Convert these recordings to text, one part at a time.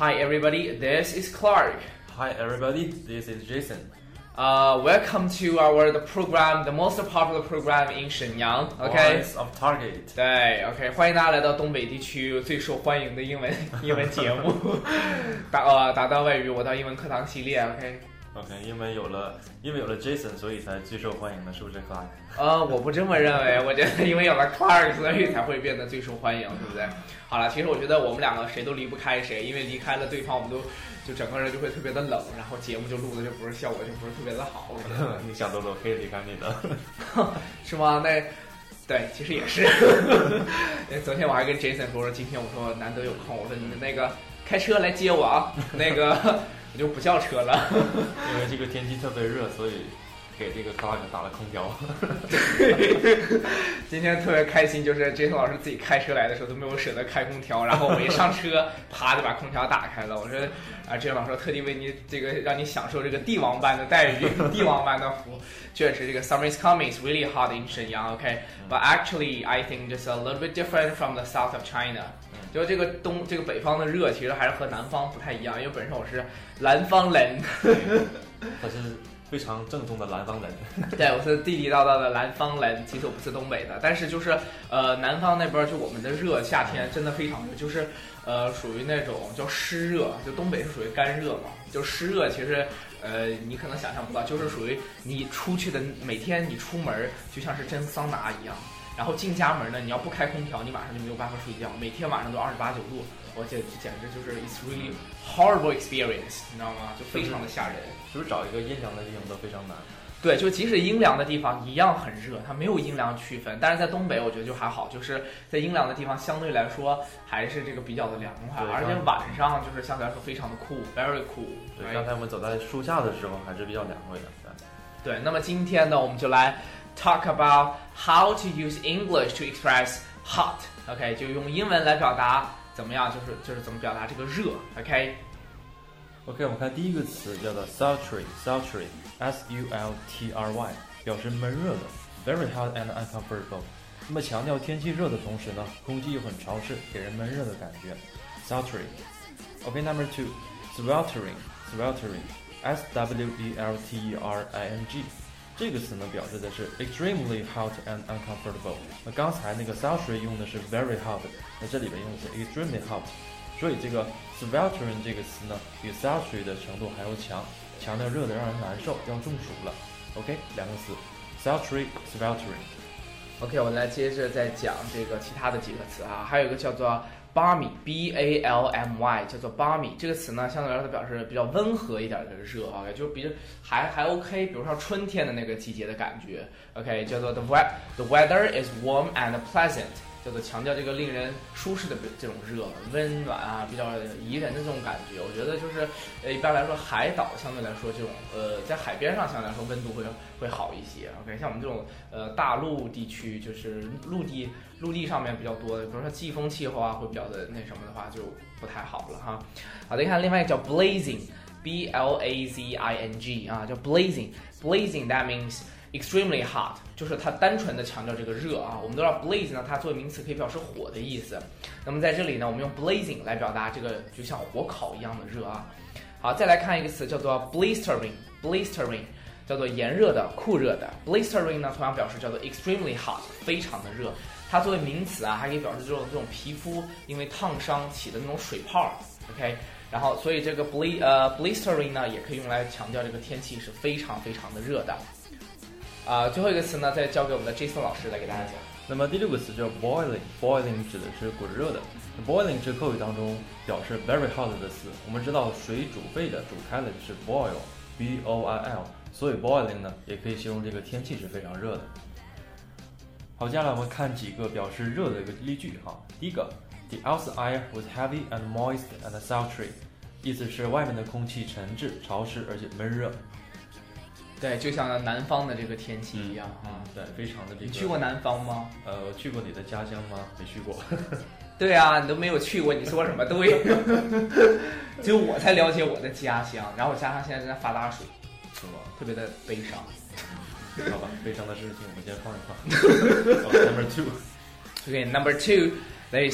Hi everybody, this is Clark. Hi everybody, this is Jason. Welcome to the program, the most popular program in Shenyang. Okay. Voice of Target. 对 ，OK， 欢迎大家来到东北地区最受欢迎的英文节目，打到外语我到英文课堂系列 ，OK。OK， 因为有了 Jason， 所以才最受欢迎的，是不是 Clark？ 我不这么认为，我觉得因为有了 Clark， 所以才会变得最受欢迎，对不对？好了，其实我觉得我们两个谁都离不开谁，因为离开了对方，我们就整个人就会特别的冷，然后节目就录的就不是效果就不是特别的好。 你想多了，我可以离开你的， 是吗？那对，其实也是。昨天我还跟 Jason 说，今天我说难得有空，我说你那个开车来接我啊，那个我就不叫车了， 因为这个天气特别热，所以给这个 Clark 打了空调。 今天特别开心，就是 Jason 老师自己开车来的时候都没有舍得开空调，然后我一上车，啪就把空调打开了。我说Jason 老师特地为你这个让你享受这个帝王般的待遇，帝王般的服务。确实，这个 Summer is coming, it's really hot in Shenyang, okay? But actually, I think just a little bit different from the south of China. 就这个北方的热，其实还是和南方不太一样，因为本身我是南方人。 他是非常正宗的南方人。 对，我是地地道道的南方人，其实我不是东北的，但是就是南方那边就我们的热，夏天真的非常热，就是属于那种叫湿热，就东北是属于干热嘛，就湿热其实你可能想象不到，就是属于你出去的每天你出门就像是蒸桑拿一样，然后进家门呢，你要不开空调，你马上就没有办法睡觉，每天晚上都28、9度，我简直就是 it's really horrible experience， 你知道吗？就非常的吓人。 是不是找一个阴凉的地方都非常难？ 对，就即使阴凉的地方一样很热，它没有阴凉区分。但是在东北，我觉得就还好，就是在阴凉的地方相对来说还是这个比较的凉快，而且晚上就是相对来说非常的cool, very cool。 对，刚才我们走在树下的时候还是比较凉快的。 对，那么今天呢，我们就来 talk about how to use English to express hot。OK， 就用英文来表达怎么样，就是怎么表达这个热。OK， 我们看第一个词叫做 sultry， S-U-L-T-R-Y， 表示闷热的 ，very hot and uncomfortable。那么强调天气热的同时呢，空气又很潮湿，给人闷热的感觉 ，sultry。OK，number two， sweltering， S-W-E-L-T-E-R-I-N-G。这个词呢，表示的是 extremely hot and uncomfortable。那刚才那个 sultry 用的是 very hot， 那这里边用的是 extremely hot。所以这个 sweltering 这个词呢，比 sultry 的程度还要强，强调热的让人难受，要中暑了。OK， 两个词 sultry、sweltering。OK， 我来接着再讲这个其他的几个词啊，还有一个叫做 balmy， B-A-L-M-Y， 叫做 balmy 这个词呢，相对来说表示比较温和一点的热啊，就比还 OK， 比如说春天的那个季节的感觉。OK， 叫做 the weather is warm and pleasant。叫做强调这个令人舒适的这种热，温暖啊，比较宜人的这种感觉。我觉得就是一般来说海岛相对来说这种在海边上相对来说温度会好一些。OK， 像我们这种大陆地区，就是陆地上面比较多的，比如说季风气候啊，会比较的那什么的话就不太好了哈。好的，你看另外一个叫 blazing，B-L-A-Z-I-N-G 啊，叫 blazing that means extremely hot， 就是它单纯的强调这个热啊。我们都知道 blaze 呢，它作为名词可以表示火的意思。那么在这里呢，我们用 blazing 来表达这个就像火烤一样的热啊。好，再来看一个词叫做 blistering， 叫做炎热的、酷热的。blistering 呢，同样表示叫做 extremely hot， 非常的热。它作为名词啊，还可以表示这种皮肤因为烫伤起的那种水泡。OK， 然后所以这个 blistering 呢，也可以用来强调这个天气是非常非常的热的。最后一个词呢，再交给我们的 Jason 老师来给大家讲。 那么第六个词叫 boiling 指的是滚热的。boiling 是口语当中表示 very hot 的词。我们知道水煮沸的、煮开了就是 boil，B-O-I-L， 所以 boiling 呢也可以形容这个天气是非常热的。好，接下来我们看几个表示热的一个例句哈。第一个 ，The outside air was heavy and moist and sultry， 意思是外面的空气沉滞、潮湿而且闷热。 对，就像南方的这个天气一样对，非常的这个。 你去过南方吗？ 去过你的家乡吗？没去过。 对啊，你都没有去过，你说什么对？只有我才了解我的家乡，然后我家乡现在正在发大水， 是吗？ 特别的悲伤。 好吧，悲伤的事情我们先放一放。Number two. Okay, number two, there is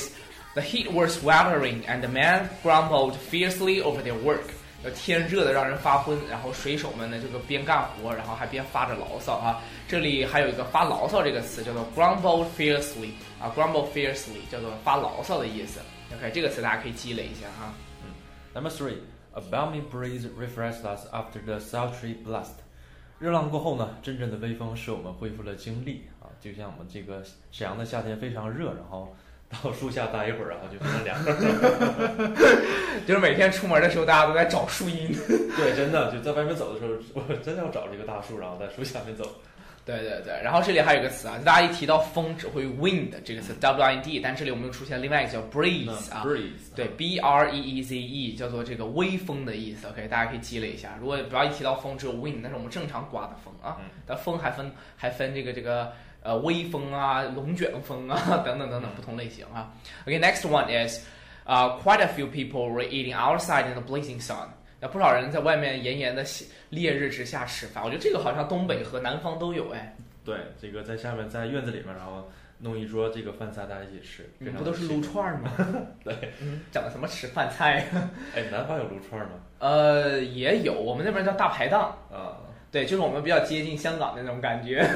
The heat was sweltering, and the men grumbled fiercely over their work. 天热的让人发昏，然后水手们呢这个边干活，然后还边发着牢骚啊。这里还有一个发牢骚这个词叫做 grumble fiercely 啊 ，grumble fiercely 叫做发牢骚的意思。OK， 这个词大家可以积累一下哈。 Number 3, a balmy breeze refreshed us after the sultry blast. 热浪过后呢，阵阵的微风使我们恢复了精力啊，就像我们这个沈阳的夏天非常热，然后到树下待一会儿，然后就非常凉。 就是每天出门的时候，大家都在找树荫。 对，真的就在外面走的时候，我真的要找这个大树，然后在树下面走。 对对对，然后这里还有一个词啊，大家一提到风只会 wind 这个词 wind， 但这里我们又出现另外一个叫 breeze 啊 breeze， 对 breeze 叫做这个微风的意思。OK， 大家可以积累一下。如果不要一提到风只有 wind， 那是我们正常刮的风啊。但风还分这个微风啊、龙卷风啊等等等等不同类型啊。OK，next one is quite a few people were eating outside in the blazing sun。有不少人在外面炎炎的烈日之下吃饭，我觉得这个好像东北和南方都有哎。 对，这个在下面在院子里面，然后弄一桌这个饭菜，大家一起吃。 你们不都是撸串吗？ 对， 讲的什么吃饭菜？ 哎，南方有撸串吗？ 也有，我们那边叫大排档啊。 对，就是我们比较接近香港的那种感觉。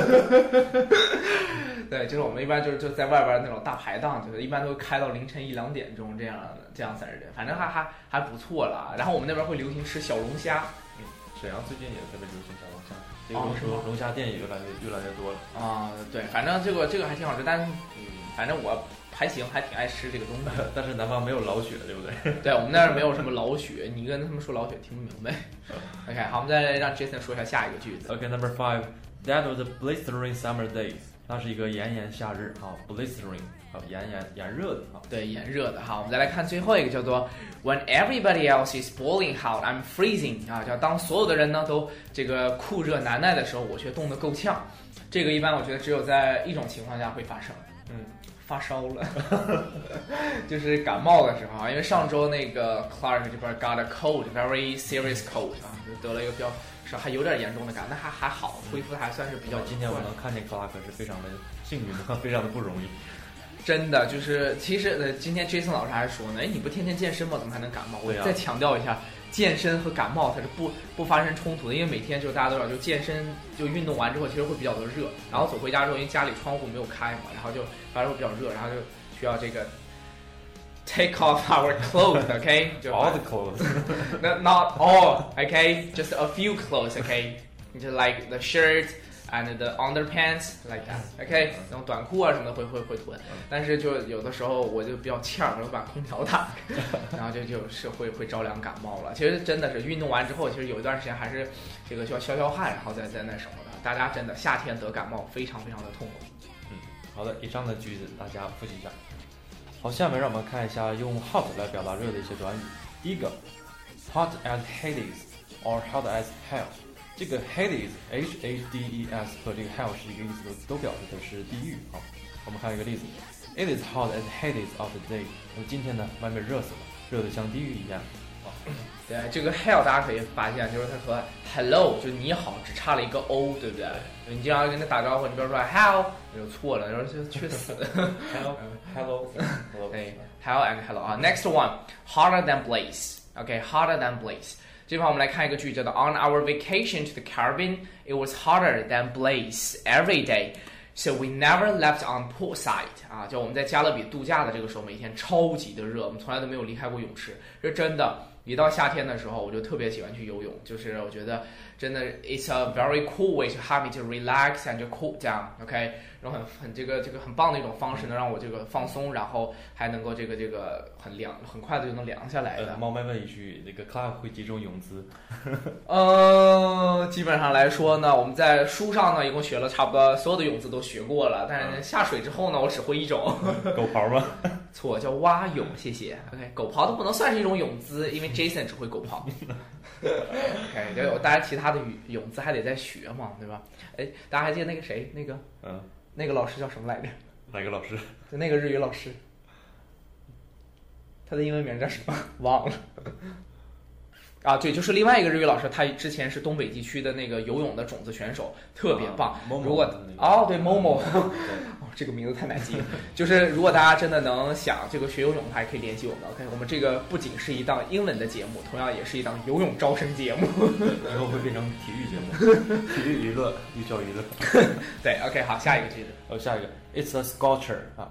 对，就是我们一般就在外边那种大排档，就是一般都开到凌晨1、2点钟这样子的，反正还不错了。然后我们那边会流行吃小龙虾。 沈阳最近也特别流行小龙虾，这个龙虾店也越来越多了。 啊，对，反正这个还挺好吃，但是反正我还行，还挺爱吃这个东西。 但是南方没有老雪，对不对？ 对，我们那儿没有什么老雪，你跟他们说老雪听不明白。OK， 好，我们再让 Jason 说一下下一个句子。 OK，Number 5, that was a blistering summer day。它是一个炎炎夏日啊 ，blistering 啊，炎热的啊。 对，炎热的哈。我们再来看最后一个叫做 When everybody else is boiling hot, I'm freezing 啊，叫当所有的人呢都这个酷热难耐的时候，我却冻得够呛。这个一般我觉得只有在一种情况下会发生。发烧了，就是感冒的时候啊，因为上周那个 Clark 这边 got a cold, very serious cold 啊，就得了一个比较还有点严重的感，但还好，恢复的还算是比较。 今天我能看见 Clark 是非常的幸运的，非常的不容易。 真的就是，其实今天 Jason 老师还说呢，哎，你不天天健身吗？怎么还能感冒？我再强调一下，健身和感冒它是不发生冲突的，因为每天就大家都知道，就健身就运动完之后，其实会比较的热，然后走回家之后，因为家里窗户没有开嘛，然后就反正会比较热，然后就需要这个 take off our clothes, okay? All the clothes. Not all, okay? Just a few clothes, okay? Just like the shirt and the underpants like that, okay? 那种短裤啊什么的会囤，但是就有的时候我就比较欠儿，我就把空调打开，然后就是会着凉感冒了。其实真的是运动完之后，其实有一段时间还是这个需要消汗，然后再那什么的。大家真的夏天得感冒非常非常的痛苦。 好的，以上的句子大家复习一下。好，下面让我们看一下用 hot 来表达热的一些短语。第一个 ，hot as Hades or hot as hell。这个 Hades Hades 和这个 hell 是一个意思，都表示的是地狱啊。我们看一个例子 ，It is hot as Hades of the day。那么今天呢，外面热死了，热得像地狱一样。 对，这个 hell 大家可以发现，就是它和 hello 就你好只差了一个 o， 对不对？你经常跟他打招呼，你比如说 hell 就错了，然后就去死。 Hello， 对 ，hell and hello 啊。Next one, hotter than blaze。OK, hotter than blaze。这地方我们来看一个句，叫做 On our vacation to the Caribbean, it was hotter than blaze every day, so we never left on poolside。啊，就我们在加勒比度假的这个时候，每天超级的热，我们从来都没有离开过泳池，这真的。一到夏天的时候，我就特别喜欢去游泳，就是我觉得真的 it's a very cool way to help me to relax and cool down, OK， 然后很这个很棒的一种方式，能让我这个放松，然后还能够这个很凉，很快的就能凉下来的。 冒昧问一句，那个 Clark 会几种泳姿？ 基本上来说呢，我们在书上呢一共学了差不多所有的泳姿都学过了，但是下水之后呢，我只会一种。 狗刨吗？ 错，叫蛙泳，谢谢。OK， 狗刨都不能算是一种泳姿，因为 Jason 只会狗刨。OK， 就有大家其他的泳姿还得再学嘛，对吧？哎，大家还记得那个谁？那个老师叫什么来着？ 哪个老师？ 就那个日语老师，他的英文名叫什么？忘了。 啊，对，就是另外一个日语老师，他之前是东北地区的那个游泳的种子选手，特别棒。如果对 Momo， 这个名字太难记了。就是如果大家真的能想这个学游泳的话，还可以联系我们。OK， 我们这个不仅是一档英文的节目，同样也是一档游泳招生节目。 以后会变成体育节目，体育娱乐，寓教于乐。 对 ，OK， 好，下一个句子。 下一个 ，It's a sculpture 啊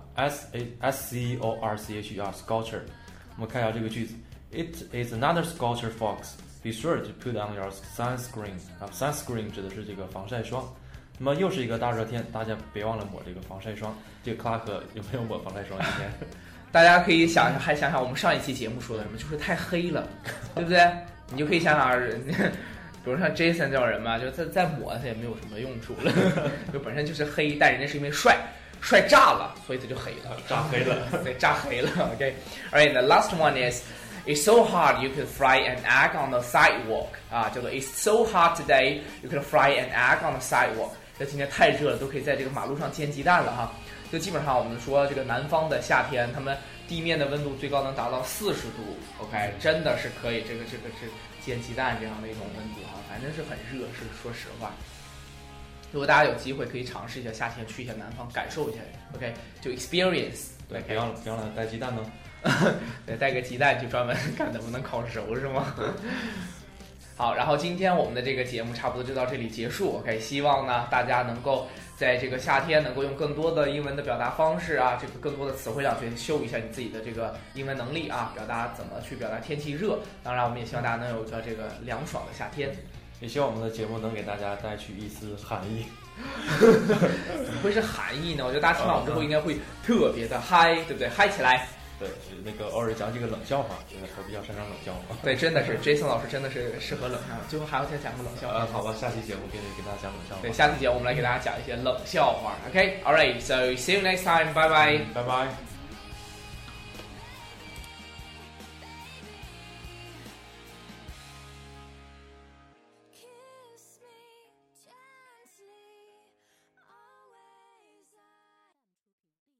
，S-C-O-R-C-H-E-R sculpture。我们看一下这个句子。It is another sculpture, folks. Be sure to put on your sunscreen. Sunscreen 指的是这个防晒霜。那么又是一个大热天，大家别忘了抹这个防晒霜。这个克拉克有没有抹防晒霜？今天大家可以想想我们上一期节目说的什么，就是太黑了，对不对？你就可以想想，比如像 Jason 这种人嘛，就再抹他也没有什么用处了，就本身就是黑，但人家是因为帅炸了，所以他就黑了， 炸黑了， 对，炸黑了。OK，alright， the last one is. It's so hot you could fry an egg on the sidewalk 啊，叫做 It's so hot today you could fry an egg on the sidewalk。这今天太热了，都可以在这个马路上煎鸡蛋了哈。就基本上我们说这个南方的夏天，他们地面的温度最高能达到40度 ，OK， 真的是可以这个是煎鸡蛋这样的一种温度哈，反正是很热，是说实话。如果大家有机会可以尝试一下夏天去一下南方，感受一下 ，OK， 就 experience。 对，别忘了带鸡蛋呢。 对，带个鸡蛋就专门看能不能烤熟是吗？好，然后今天我们的这个节目差不多就到这里结束。OK， 希望呢大家能够在这个夏天能够用更多的英文的表达方式啊，这个更多的词汇量去秀一下你自己的这个英文能力啊，表达怎么去表达天气热。当然，我们也希望大家能有个这个凉爽的夏天。 也希望我们的节目能给大家带去一丝寒意。 怎么会是寒意呢？我觉得大家听完我们之后应该会特别的嗨，对不对？嗨起来！ 对，那个偶尔讲几个冷笑话，因为他比较擅长冷笑话。 对，真的是 Jason 老师真的是适合冷笑话。最后还要再讲个冷笑话。 好吧，下期节目给大家讲冷笑话。 对，下期节目我们来给大家讲一些冷笑话。OK，alright，so see you next time，拜拜， 拜拜。